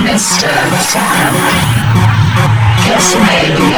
Mr. This may be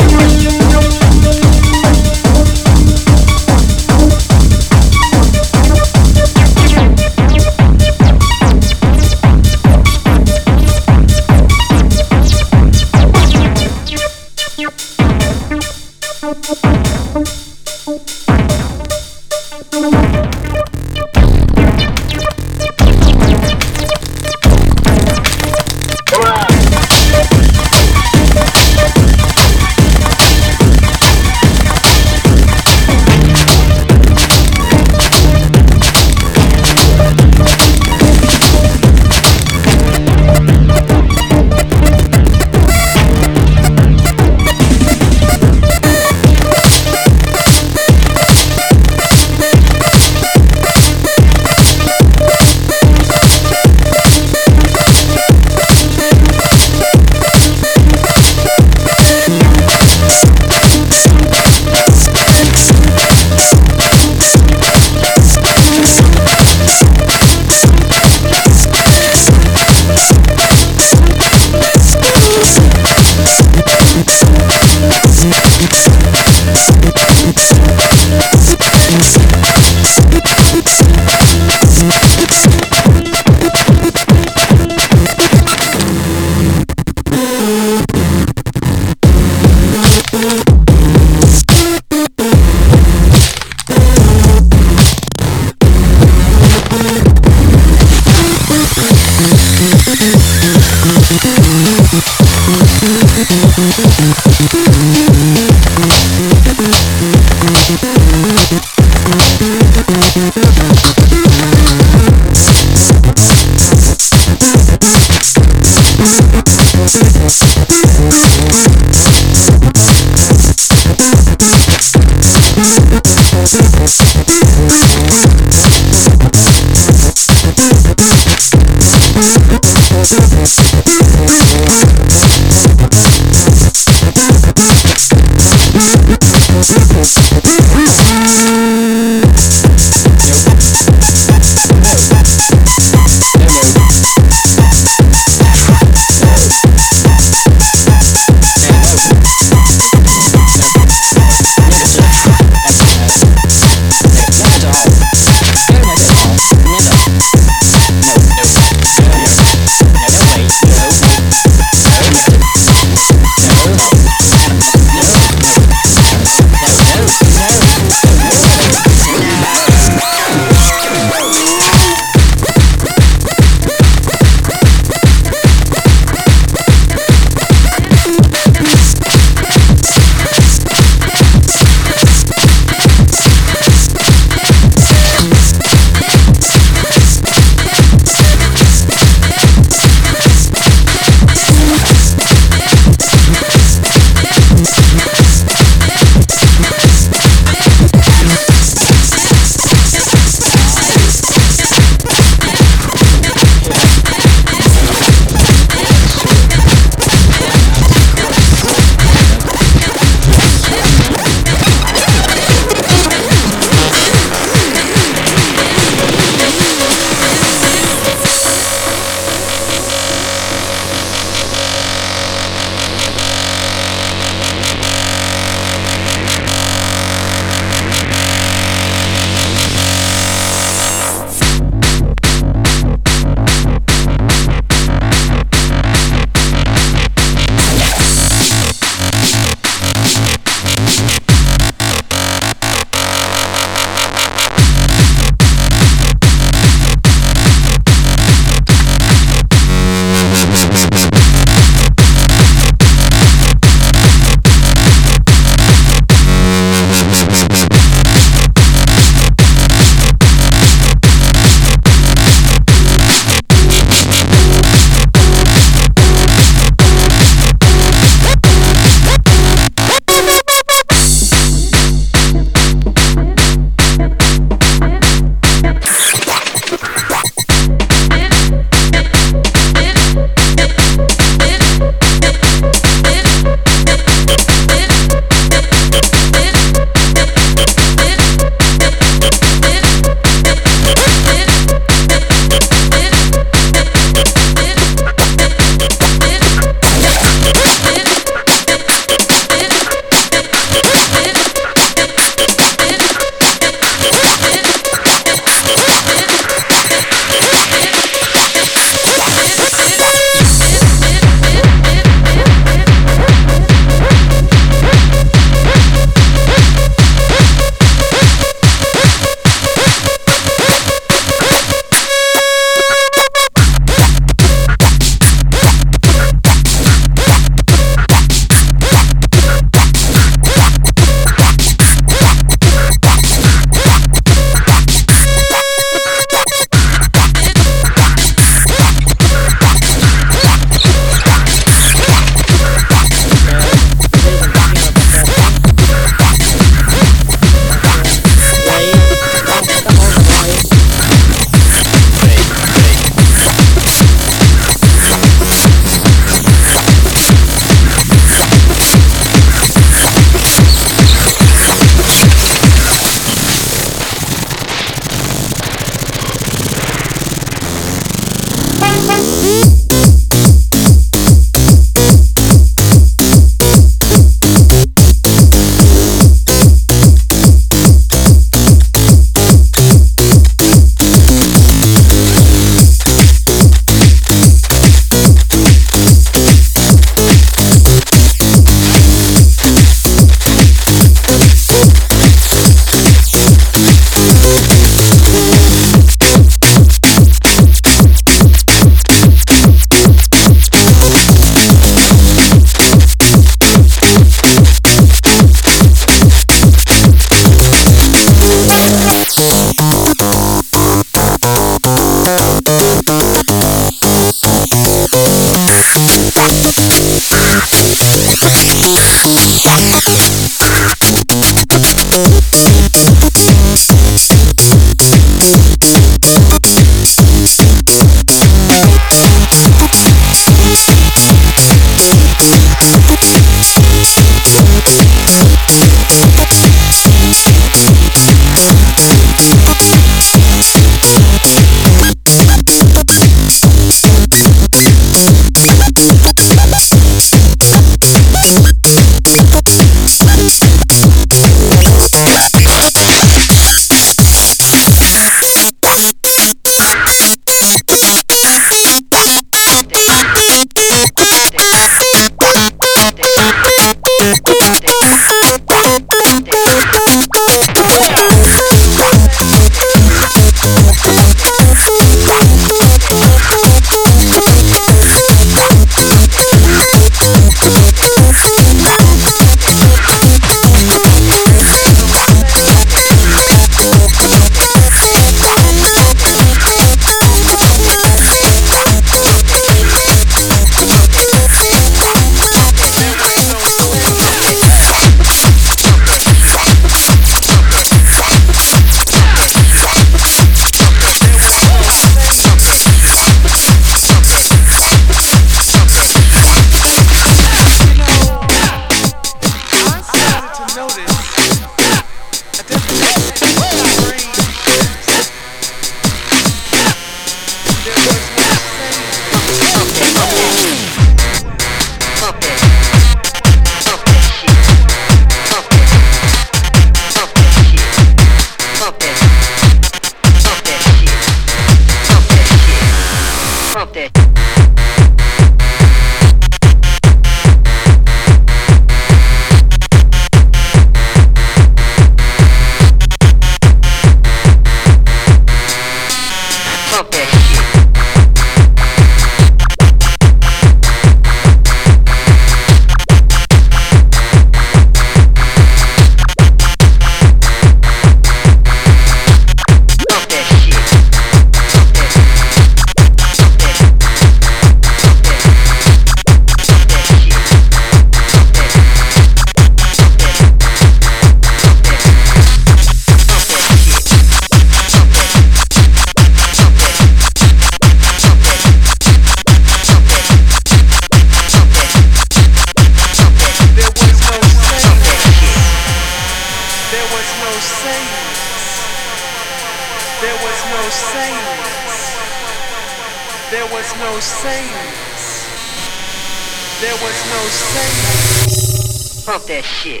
Pump that shit.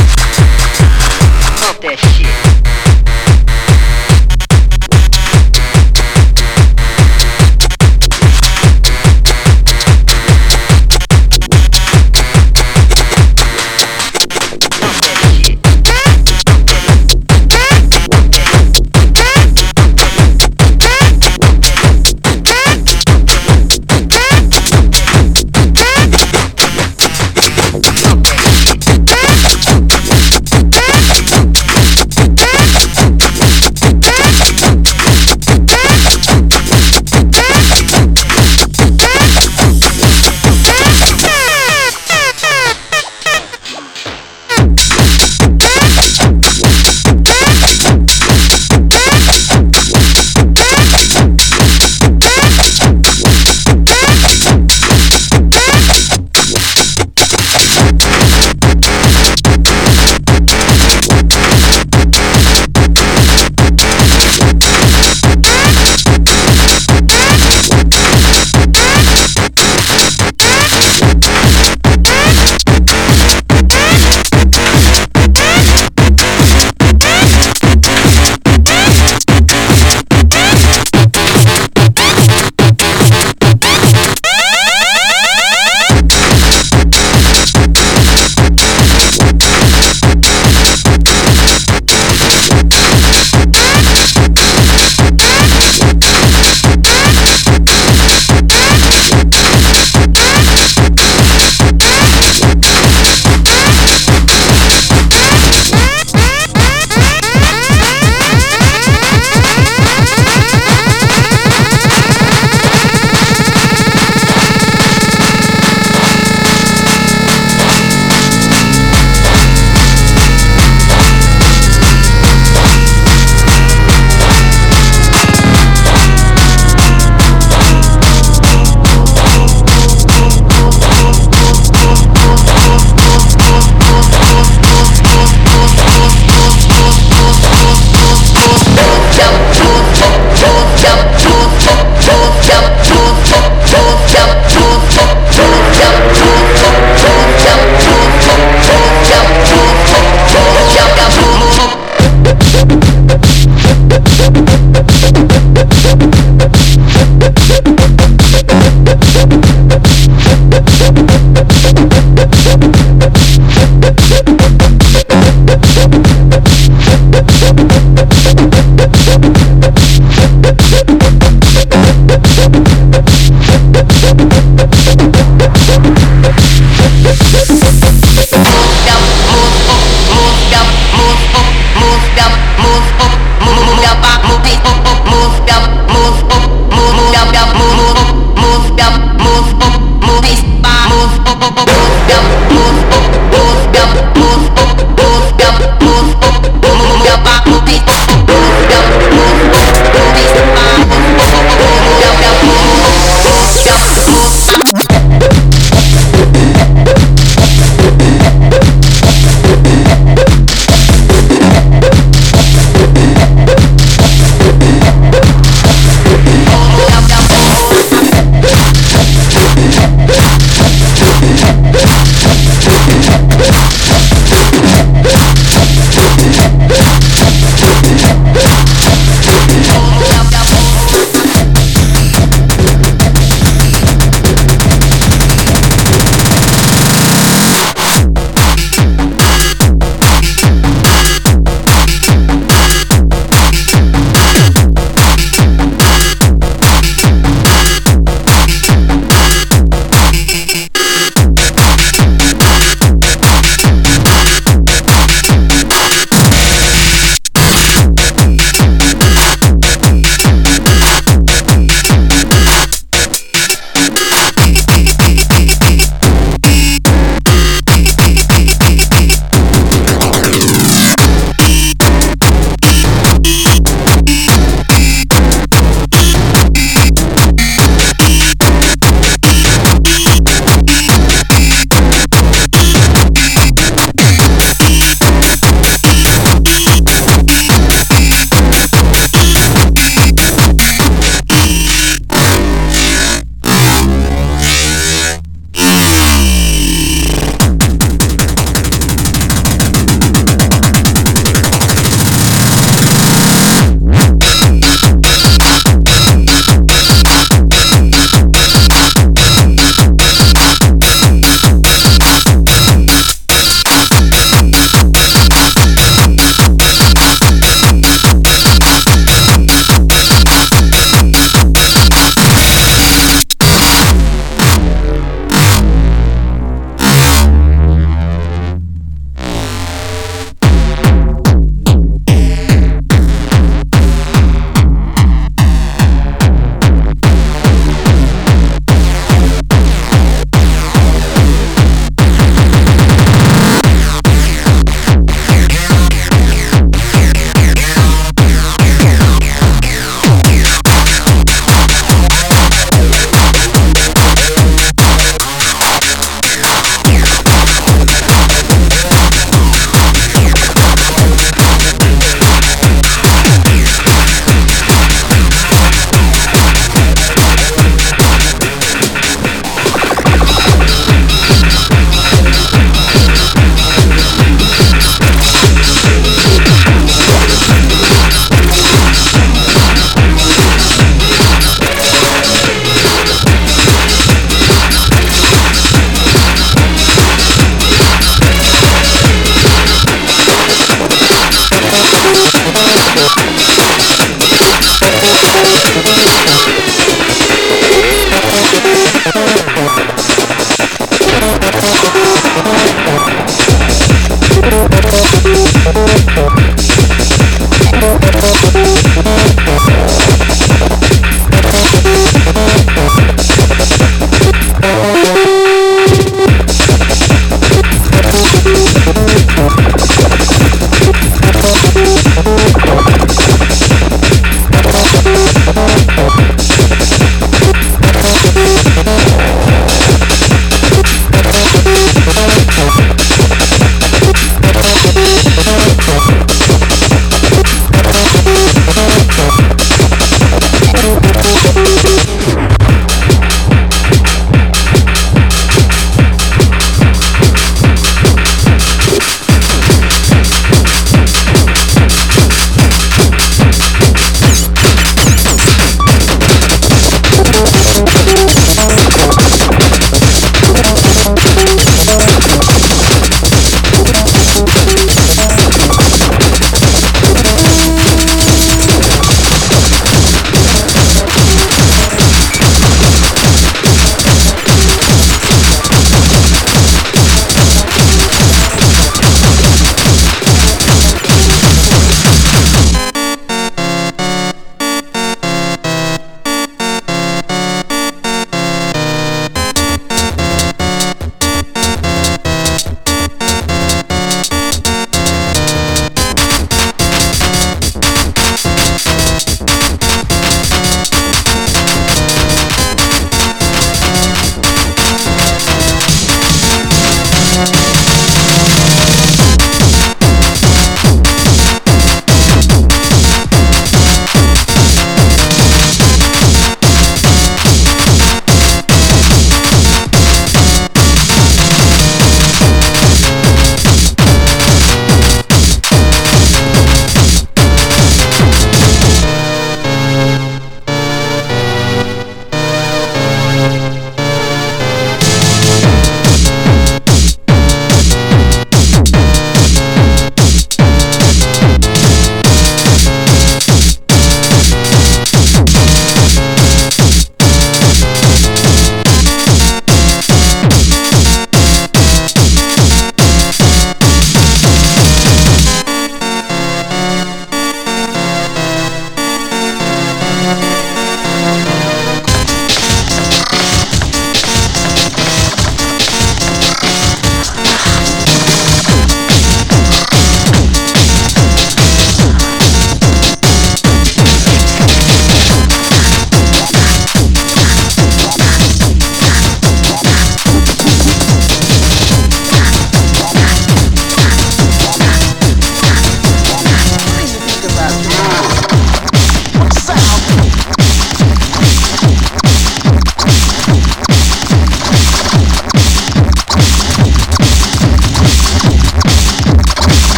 Pump that shit.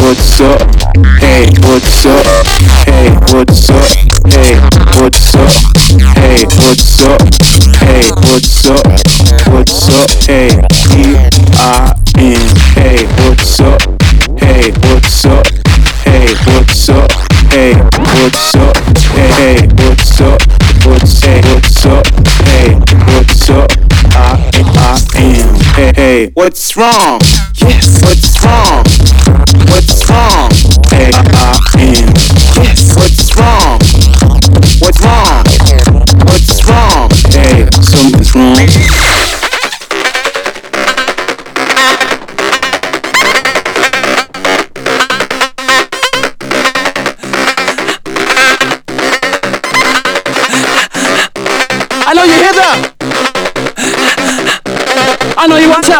what's up? Hey, what's up? Hey, what's up? Hey, what's up? Hey, what's up? Hey, what's up? What's up? Hey, E-I-N. Hey, what's up? Hey, what's up? Hey, what's up? Hey, what's up? Hey, what's up? What's up? Hey, what's up? I-N. Hey, what's wrong? Yes, what's wrong? What's wrong? Hey, I-N. Yes, what's wrong? What's wrong? What's wrong? Hey, something's wrong. I know you hear that. I know you want to.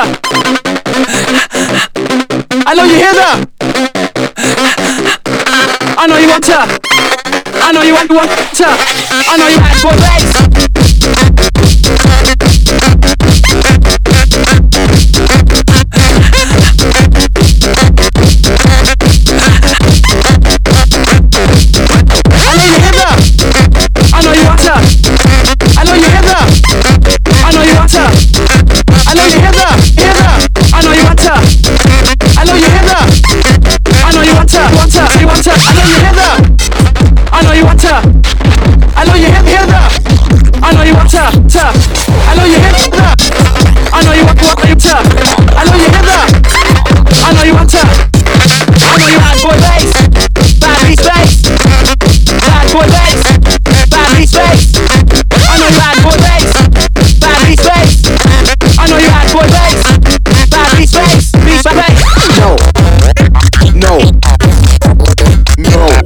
I know you hear that. I know you want to. I know you want to. I know you ask for bass. I know you hear that. I know you want to. I know you hear that. I know you want to. I know you hear that. Hear that. I know you want to. I know you hear that. I know you want to. You want to. I know you hear that. I know you want to. I know you hear that. I know you want to. I know you hear that. I know you want to. I know you hear that. I know you want to. I know you bad boy bass. Bad beat bass. Bad boy bass. Bad beat bass. I know you bad boy bass. Bad beat bass. I know you bad boy bass. Bad beat bass. Beat bass. No. No. No.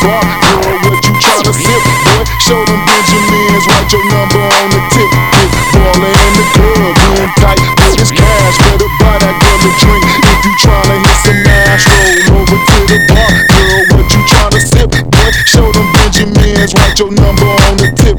bar. Girl, what you tryna sip, boy? Show them Benjamins, write your number on the tip. Big baller in the club, being tight with his cash. Better buy that girl a drink if you tryna hit some ass. Roll over to the bar. Girl, what you tryna sip, boy? Show them Benjamins, write your number on the tip.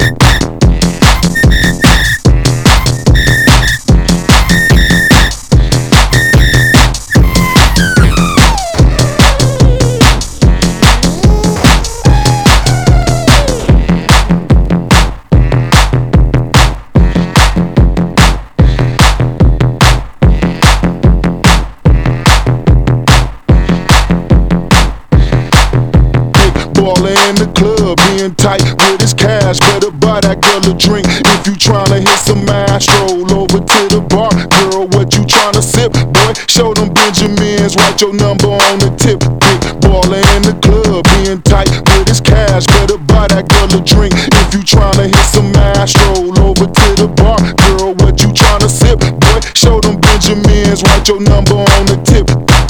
Baller in the club, being tight with his cash. Better buy that girl a drink if you tryna hit some ass. Roll over to the bar. Girl, what you tryna sip, boy? Show them Benjamins, write your number on the tip. Big baller in the club, being tight with his cash. Better buy that girl a drink if you tryna hit some ass. Roll over to the bar. Girl, what you tryna sip, boy? Show them Benjamins, write your number on the tip.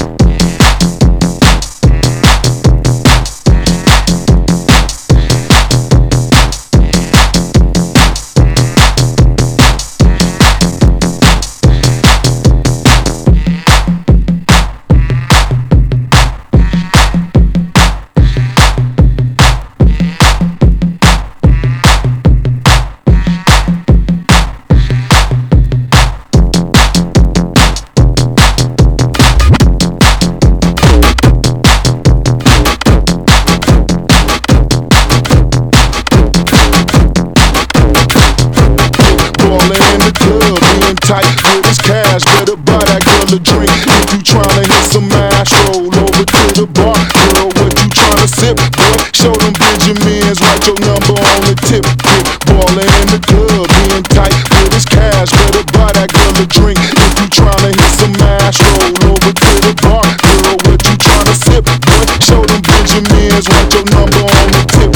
Tight with his cash, better buy that girl a drink if you tryna hit some ass. Roll over to the bar. Girl, what you tryna sip, boy? Show them Benjamins, write your number on the tip. Big baller in the club, being tight with his cash. Better buy that girl a drink if you tryna hit some ass. Roll over to the bar. Girl, what you tryna sip, boy? Show them Benjamins, write your number on the tip.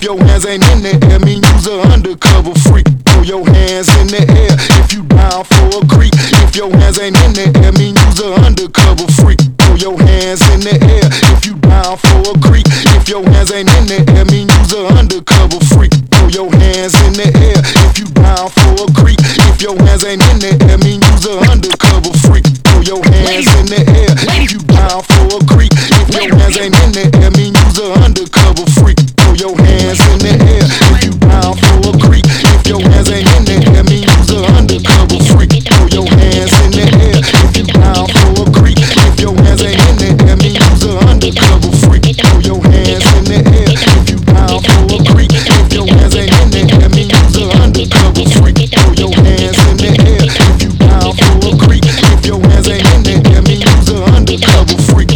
your hands ain't in the air, mean you's a undercover freak. Throw your hands in the air if you down for a creep. If your hands ain't in the air, mean you's a undercover freak. Throw your hands in the air if you down for a creep. If your hands ain't in the air, mean you's a undercover freak. Throw your hands in the air if you down for a creep. If your hands ain't in the air, mean you's a undercover freak. Throw your hands in the air if you down for a creep. If your hands ain't in the air, mean you's a undercover freak. Throw your hands in the air if you down for a creep. If your hands ain't in the air, mean you's a undercover freak. Throw your hands in the air if you down for a creep. If your hands ain't in the air, mean you's a undercover freak. Throw your hands in the air if you down for a creep. If your hands ain't in the air, mean you's a undercover freak. Throw your hands in the air if you down for a creep. If your hands ain't in the air, mean you's a undercover freak.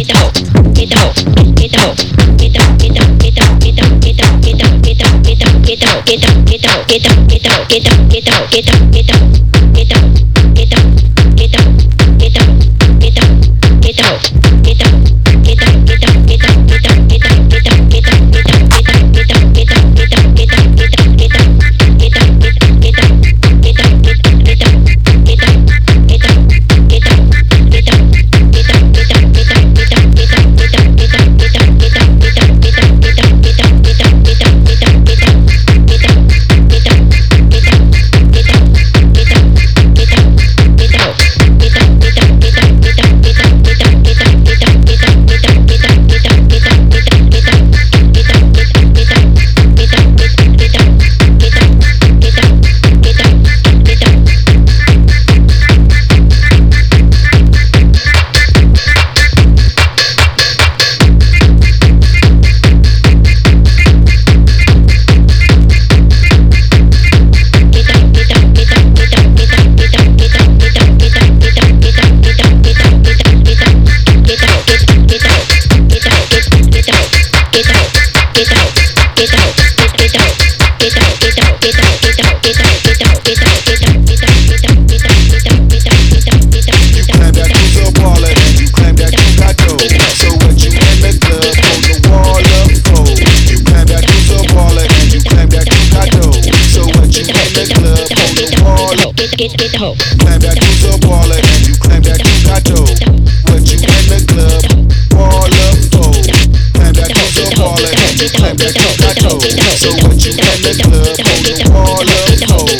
Claim that you's a baller and you claim that you got dough. What you in the club, ball up, oh. Claim that you's a baller and you claim that you got dough. So what you in the club, hold the ball up, oh.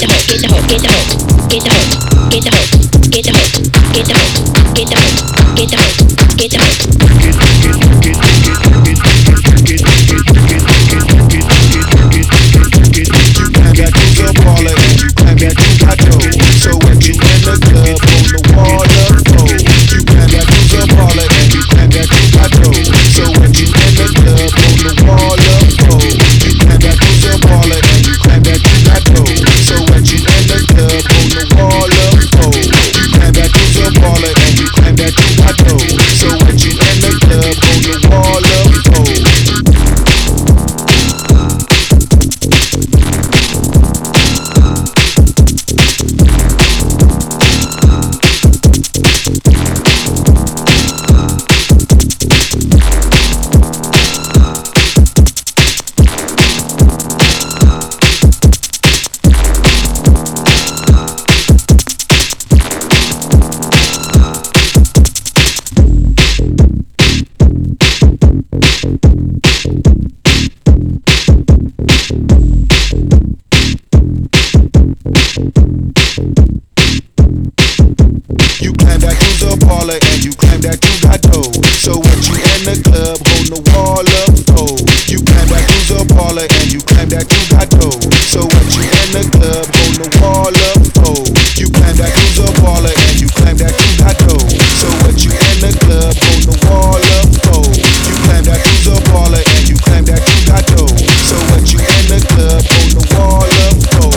So what you in the club on the wall up for? You claim that you's a baller and you claim that you got dough. So what you in the club on the wall up for? You claim that you's a baller and you claim that you got dough. So what you in the club on the wall up for? You claim that you's a baller and you claim that you got dough. So what you in the club on the wall up for? You claim that you's a baller and you claim that you got dough. So what you in the club holding the wall up for? You claim that you's a baller and you claim that you got dough. So what you in the club holding the wall up for? You claim that you's a baller and you claim that you got dough. So what you in the club holding the wall up for? You claim that you's a baller and you claim that you got dough. So what you in the club holding the wall up for?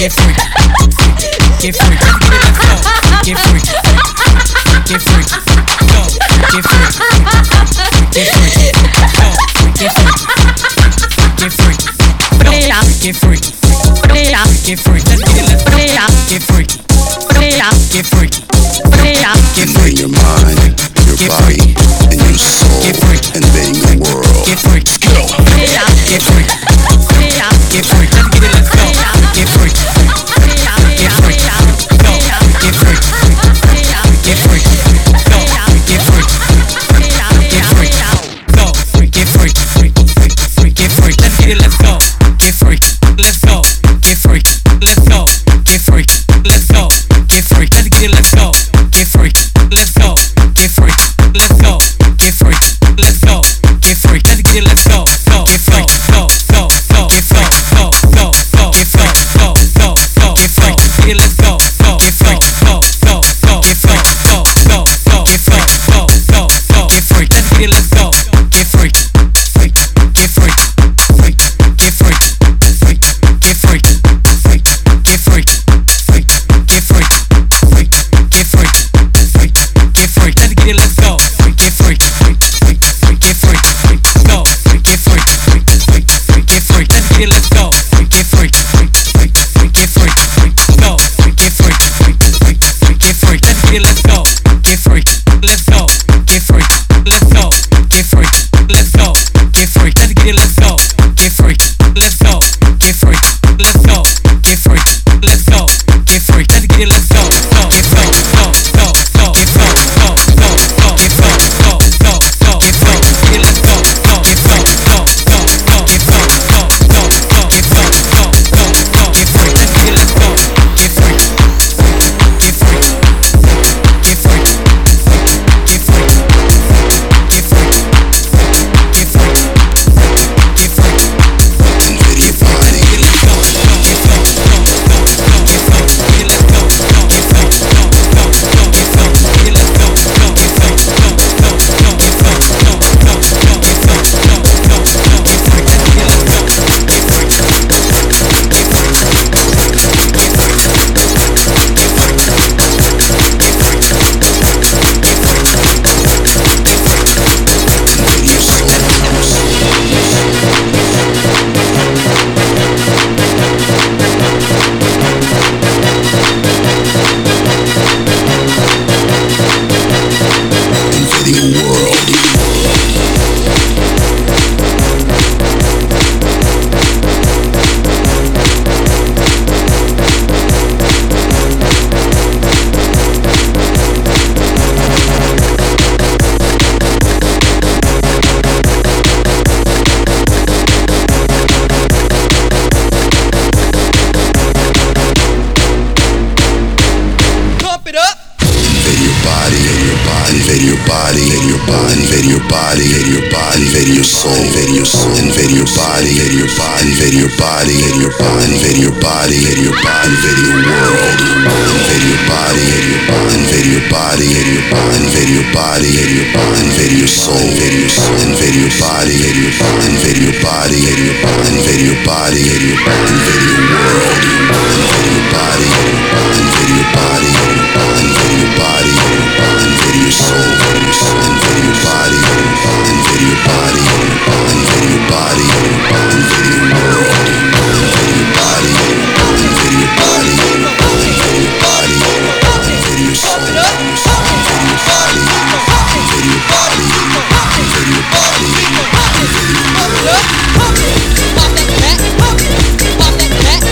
get freaky, get freaky, let's go, get freaky, get freaky, go, get freaky, get freaky, go, get freaky, get freaky, get freaky, get freaky, let's get it, let's go, get freaky, get freaky, get freaky, your mind, your body, and your soul, invading the world. get freaky, go, get freaky, get freaky, let's get it, let's go, get freaky, get freaky, go, get freaky, get freaky, go, get freaky, get freaky, go, get freaky, get freaky, let's get it, let's go, get freaky, let's go, get freaky, let's go, get freaky, let's go, get freaky, let's get it, let's go, get freaky, let's go, get freaky, let's go, get freaky, let's go, get freaky, let's get it, let's go, get freaky, go, get freaky, go, get freaky, go, get freaky, get it, let's go, get freaky, go, get freaky, go, get freaky, go, get freaky, let's get it, let's go, get freaky, get freaky, get freaky, get freaky, get freaky, get freaky, get freaky, get freaky, let's get it, let's go, get freaky, get freaky, go, get freaky, get freaky, let's get it, let's go, get freaky, get freaky, go, get freaky, get freaky, let's get it, let's go, get freaky, let's go, get freaky, let's go, get freaky, let's go, get freaky, let's get it, let's go, get freaky, let's go, get freaky, let's go, get freaky, let's go, get freaky, let's get it, let's go, get freaky, go, get freaky, go, get freaky, go, get freaky, get it, let's go, get freaky, go, get freaky, go, get freaky, go, get freaky, let's get it, let's go, get freaky, get freaky, get freaky, get freaky, get freaky, get freaky, get freaky, Invade your body, get freaky, get freaky, get freaky, get let's go, get freaky, get freaky, get let's go, get freaky, get freaky, get freaky, get freaky, get let's go, get freaky, invade your soul. Invading the world. pump it up. Invade your body, invade your body, invade your body, invade your body, invade your body, invade your soul, invade your soul, invade your body, invade your body, invade your body, invade your body, invade your body, invade your body, invade your world, invade your body, invade your body, invade your body, invade your body, invade your body, invade your soul, invade your soul, invade your body, invade your body, invade your body, invade your body, invade your body, invade your body, invade your world, invade your body, invade your body, invade your body, invade your soul, invade your body, invade your body, invade your body, invade your world, invade your body, invade your body, invade your body, invade your soul, invade your body, invade your body, invade your body, invade your world. Pop that back, pop that back.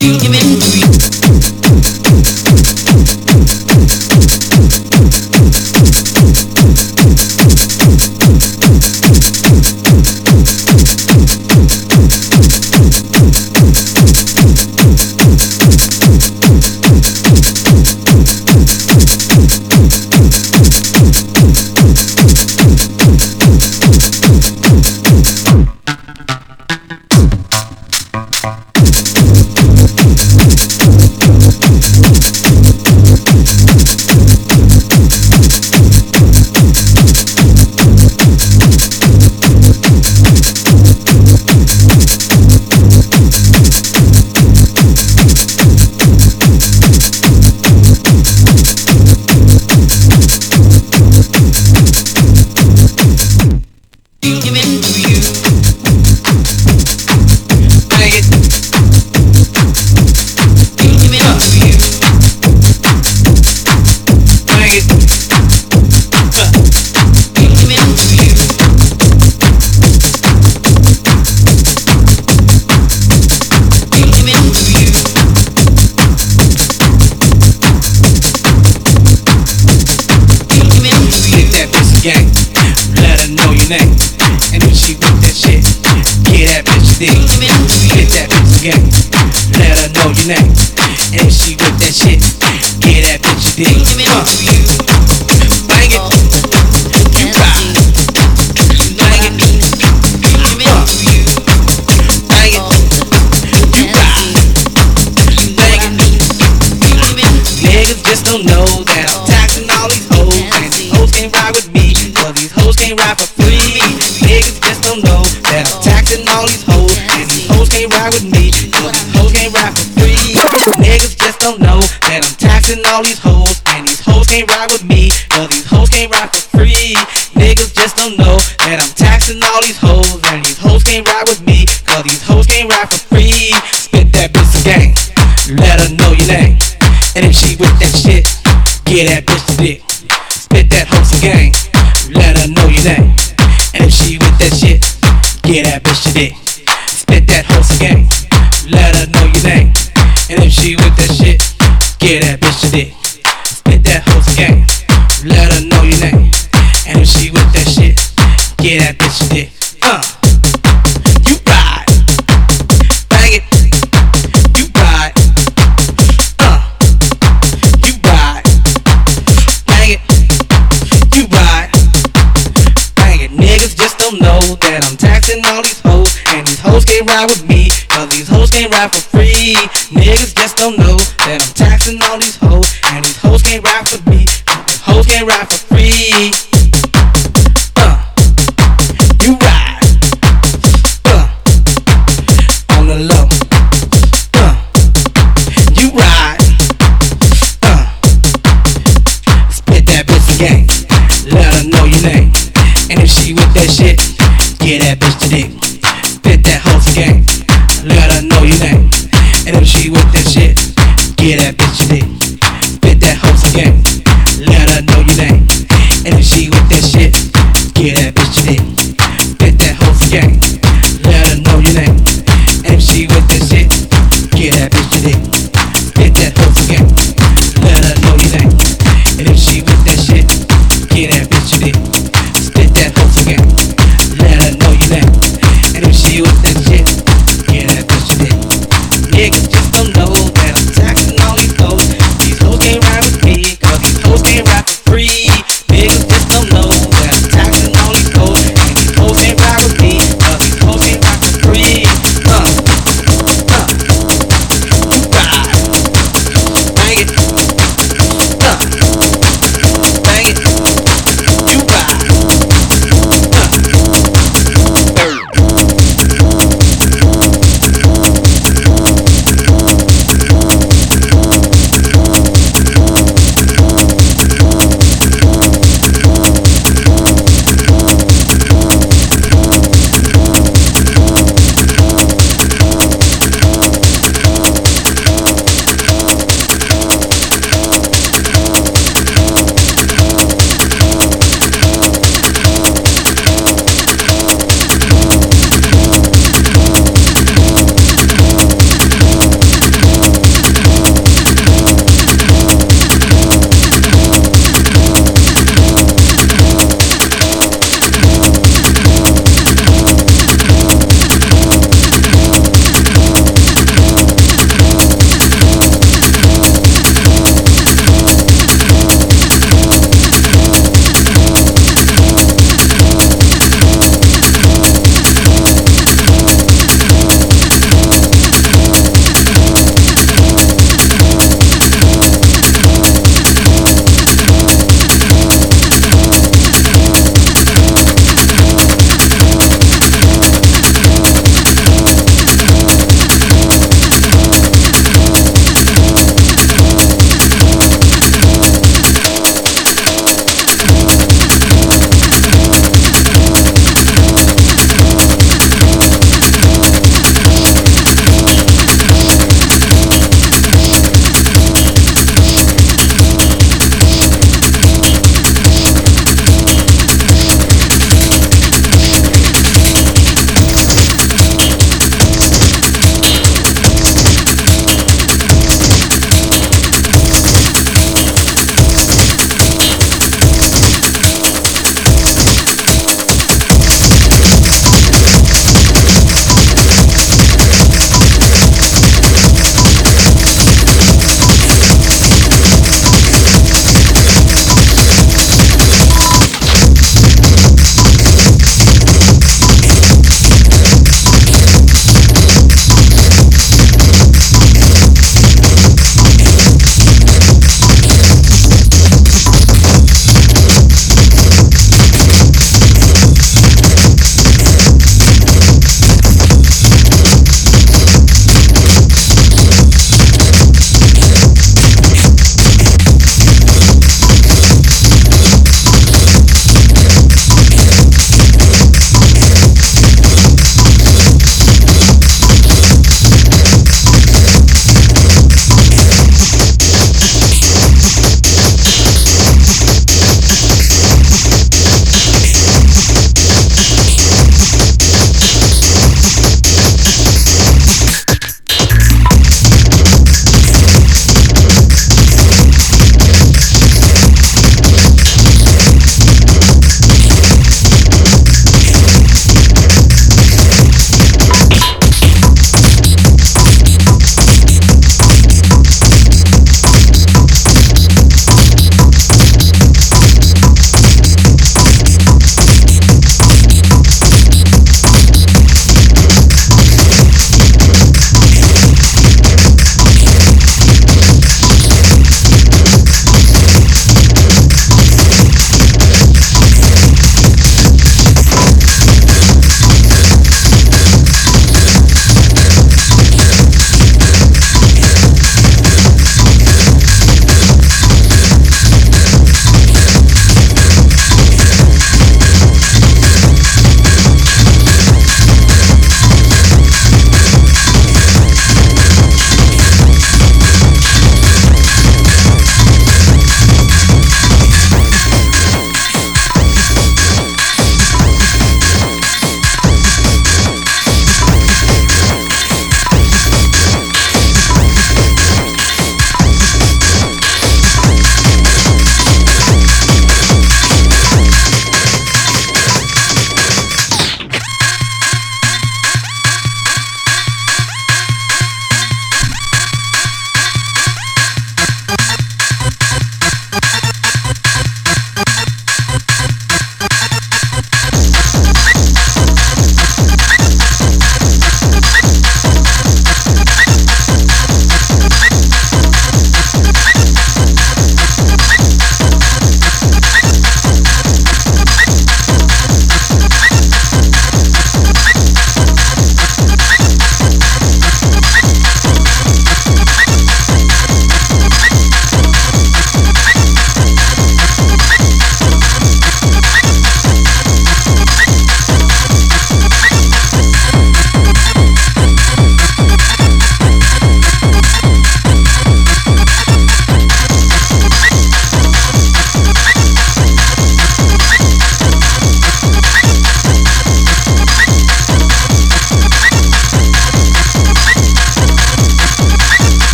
All these hoes, and these hoes can't ride with me, cause these hoes can't ride for free. Niggas just don't know that I'm taxing all these hoes, and these hoes can't ride with me, cause these hoes can't ride for free. Spit that bitch a gang, let her know your name, and if she with that shit, get that bitch a dick. Spit that hoe a gang, let her know your name, and if she with that shit, get that bitch a dick. Spit that hoe a gang, let her know your name, and if she with that shit, get that bitch a dick. Spit that hoe a gang, let her know your name, and if she with that shit, get that bitch a dick. You ride, bang it. You ride, you ride, bang it. You ride, bang it. Niggas just don't know that I'm taxing all these hoes, and these hoes can't ride with me, cause these hoes can't ride for free. Niggas just don't know that I'm taxing all these hoes, and these hoes can't ride for me, these hoes can't ride for free. You ride, on the low. You ride, spit that bitch a gang, let her know your name, and if she with that shit, get that bitch a dick. Spit that hoe a gang, let her know your name, and if she with that shit, get that bitch a dick. Spit that hoe a gang, let her know your name, and if she with that shit, get that bitch a dick. Spit that hoe a gang, let her know your name, and if she with that shit, get that bitch a dick. Spit that hoe a gang, let her know your name, and if she with that shit, get that bitch a dick. Spit that hoe a gang, let her know your name, and if she with that shit,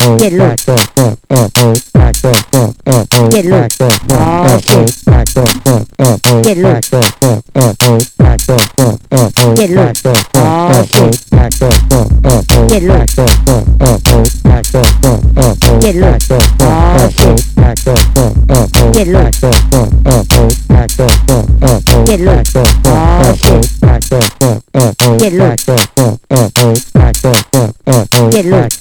Get loose. Get loose. Get loose. Get loose. Get loose. Get loose. Get loose. Get loose. Get loose. Get loose.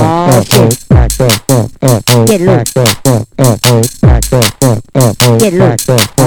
Get loose. Get loose.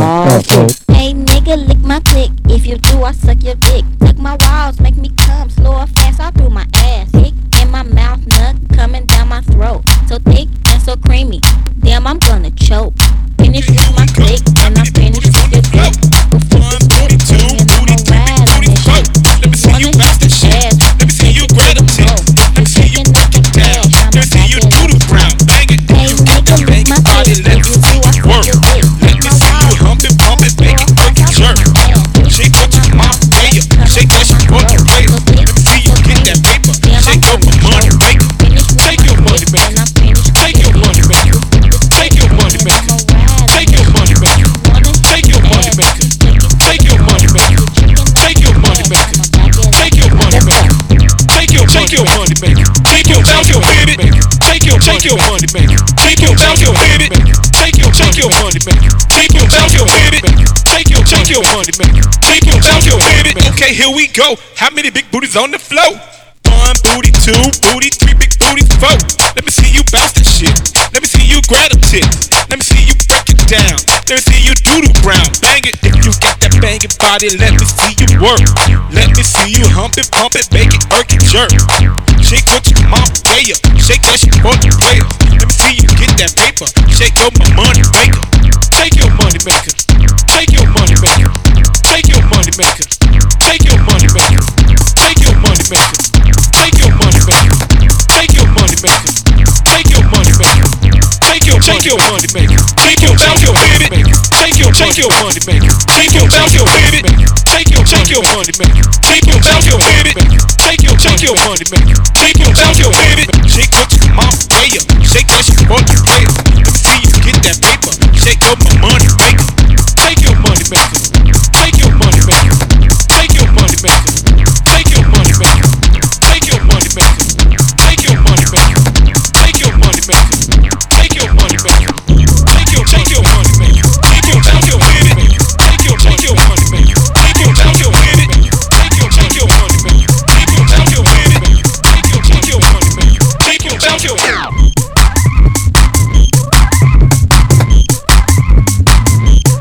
Hey nigga, lick my click. If you do, I suck your dick. Lick my walls, make me come slow or fast all through my ass. Dick in my mouth, nut coming down my throat. So thick and so creamy. Damn, I'm gonna choke. Finish with my click, and I'm finished with your dick. Go flip the script, and I'ma ride on this shit. Let me see you bounce that shit. Let me see you grab a tip. Let me see you knock it down. Let me see you do the ground. Bang it. Hey nigga, lick my click. If you do, I suck your dick. Let me see you hump it, pump it, make it work it jerk. Shake what your mouth, yeah. Shake that shit, work it later. Let me see you get that paper. Shake up my money, maker. Take your money back. Take your money back. Take your money back. Take your money back. Take your money back. Take your money back. Take your money back. Take your money back. Take your money back. Take your money back. Take your money back. Take your money back. Take your money back. Take your money back. Take your money back. Take your money back. Okay, here we go. How many big booties on the floor? 1 booty, 2 booty, 3 big booty, 4. Let me see you bounce that shit. Let me see you grab a tip. Let me see you break it down. Let me see you do the ground. Bang it if you got that banging body. Let me see you work. Let me see you hump it, pump it, make it, irk it, jerk. Shake what your mouth, yeah. Shake that shit for the players. Let me see you get that paper. Shake up my money maker. Take your money maker. Take your money maker. Take your money maker. Take your money maker. Take your money maker. Take your money maker. Take your money maker. Take your money maker. Take your money maker. Take your money maker. Take your money maker. Take your money maker. Take your money maker. Take your money maker. Take your money maker. Take your money maker. Shake what your mouth, yeah. Shake that shit for the players. Let me see you get that paper. Shake up my money maker. Take your money maker. Take your money maker. Take your money maker. Take your money maker. Take your money maker. Take your money maker. Take your money maker. Take your money maker. Take your money maker. Take your money maker. Take your money maker. Take your money maker. Take your money maker. Take your money maker. Take your money maker. Take your money maker.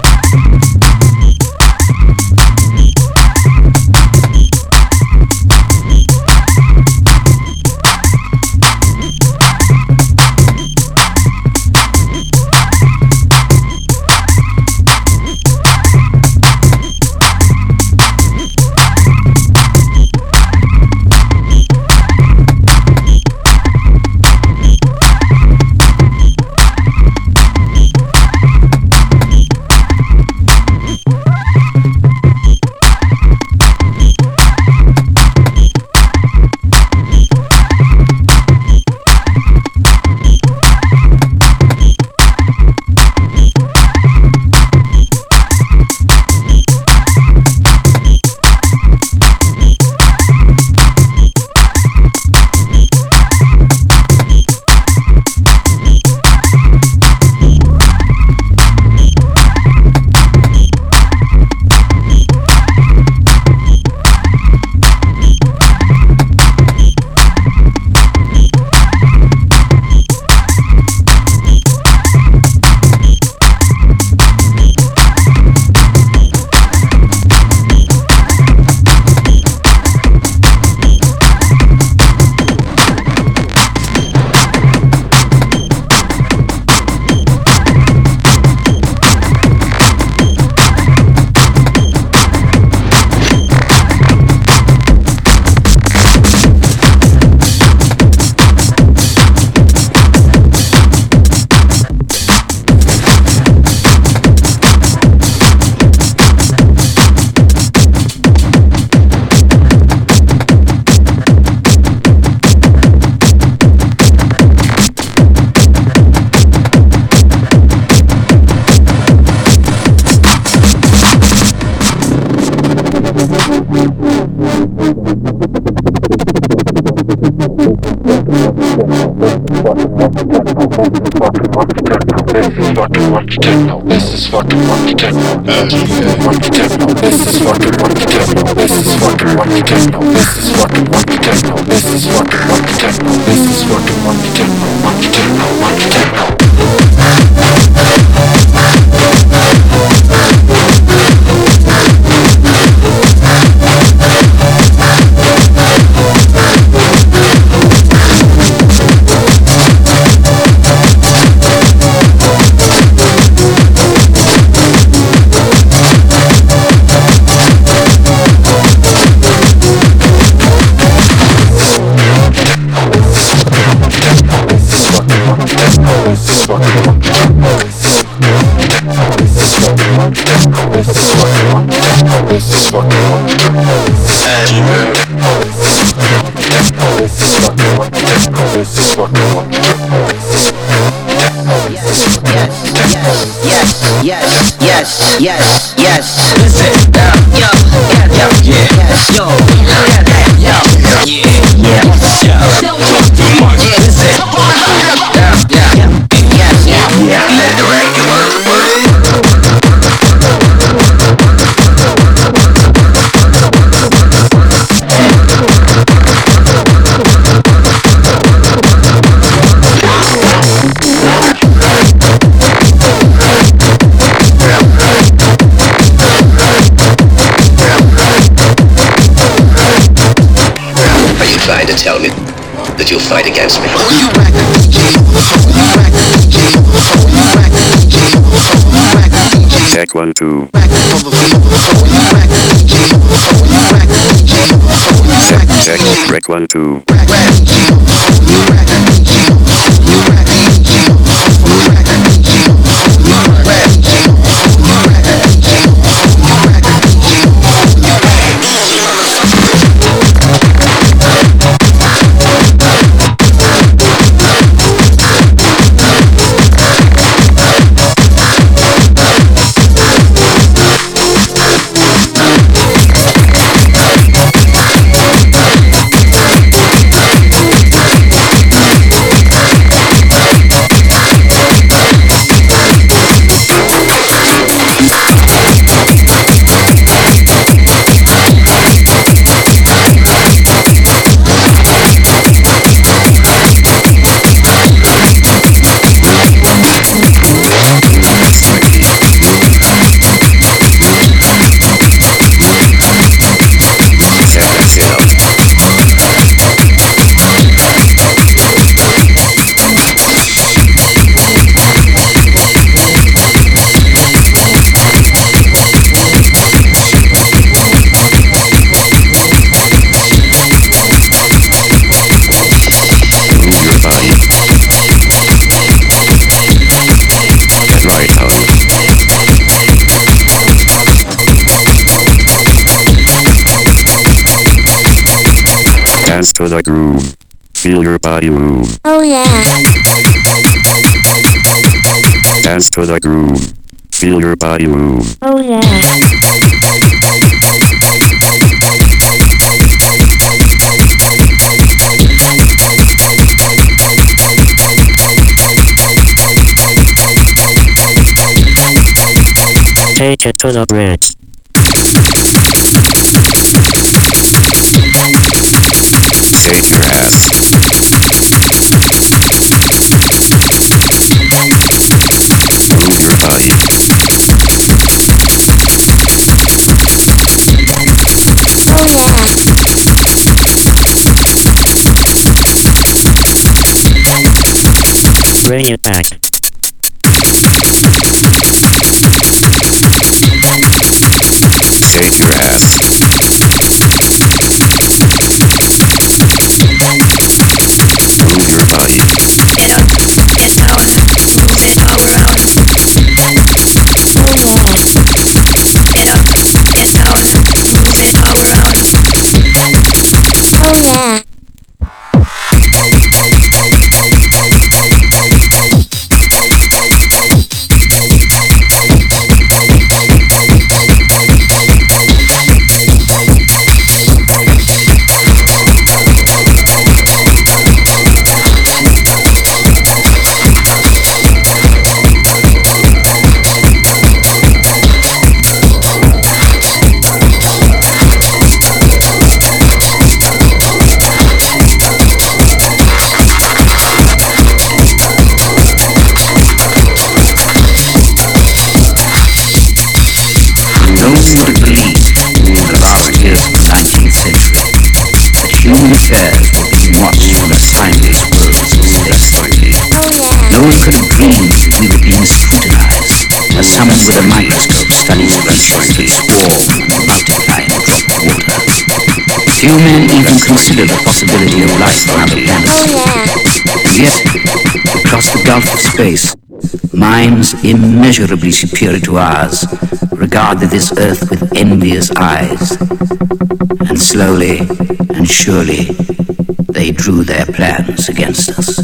fucking rock techno. This is fucking rock techno. Rock techno. This is fucking rock techno. This is fucking rock techno. This is fucking rock techno. This is fucking rock techno. This is fucking rock techno. Rock techno. Rock techno. Yes. Listen, yo, yes, yo, let the record work. Trying to tell me that you'll fight against me. Check 1 2. Check. Check 1 2. Dance to the groove. Feel your body move. Oh yeah. Dance to the groove. Feel your body move. Oh yeah. Take it to the bridge. Shake your ass. Move your body. Oh yeah. Bring it back. Shake your ass. Move your body. Get up, get down, move it around. Oh yeah. Get up, get down, move it around. Oh yeah. No one would have believed in the last years of the 19th century that human affairs were being watched from a sideways world space. No one could have dreamed that we were being scrutinized as someone with a microscope studies the growth of a swarm multiplying a drop of water. Few men even consider the possibility of life on other planets. And yet, across the gulf of space, minds immeasurably superior to ours regarded this earth with envious eyes. And slowly and surely, they drew their plans against us.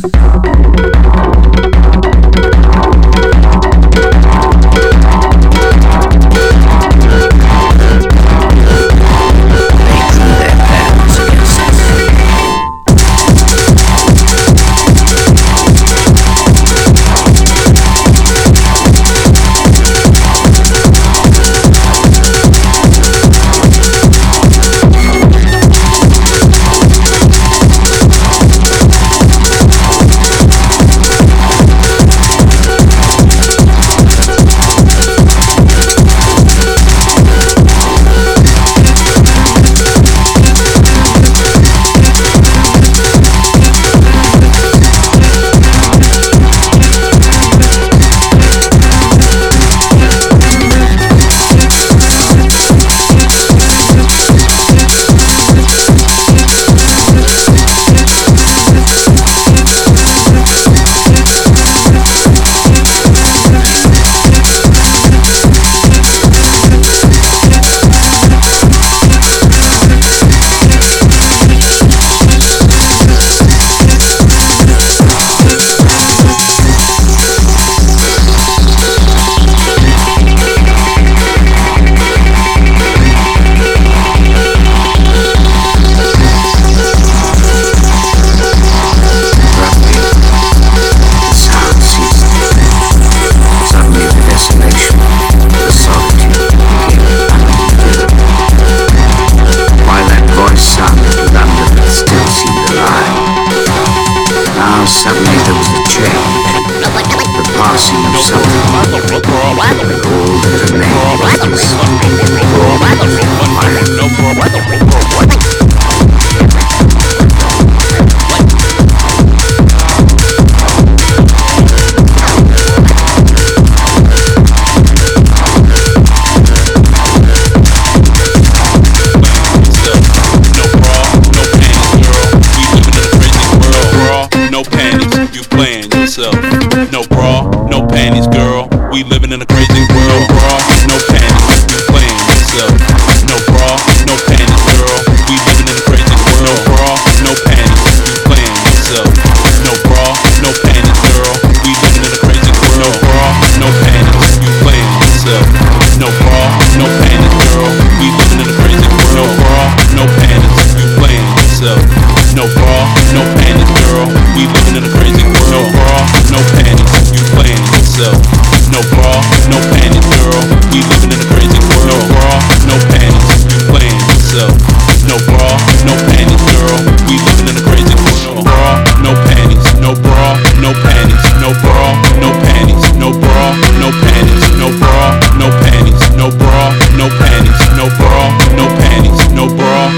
No bra, no panties, girl. We living in a crazy world. Bra, no panties, you playing yourself. No bra, no panties, girl. We living in a crazy world. No bra, no panties, you playing yourself. No bra, no panties, girl. We living in a crazy world. No bra, no panties, you playing yourself. No bra, no panties, girl. We living in a crazy world. No bra, no panties, you playing yourself. No bra, no panties, girl. We living in a crazy world. No bra, no panties, you playing yourself. No bra, no panties, girl. We living in a crazy world. No bra, no panties, you playing yourself. No bra, no panties, girl. We living in a crazy world. No bra, no panties, no bra, no panties, no bra, no panties, no bra, no panties, no bra, no panties, no bra, no panties, no bra, no panties, no bra,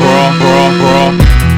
bra.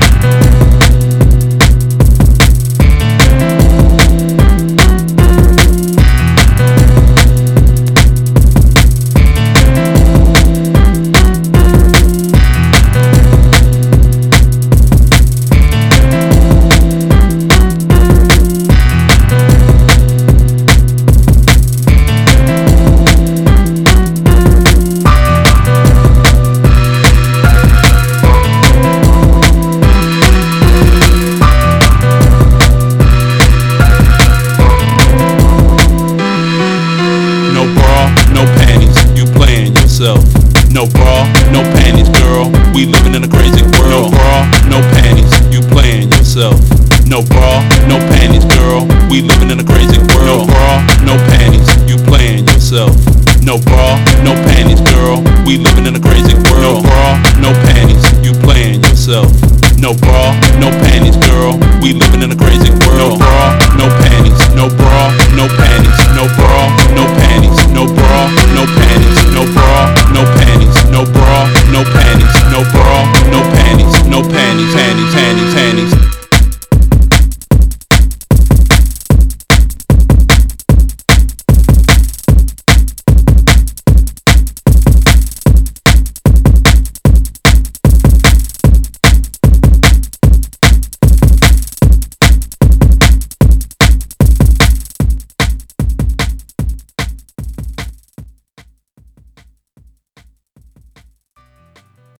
No bra, no panties, girl. We living in a crazy world. No bra, no panties, you playing yourself. No bra, no panties, girl. We living in a crazy world. No bra, no panties, you playing yourself. No bra, no panties, girl. We living in a crazy world. No bra, no panties, you playing yourself. No bra, no panties, girl. We living in a crazy world. No bra, no panties, no bra, no panties, no bra.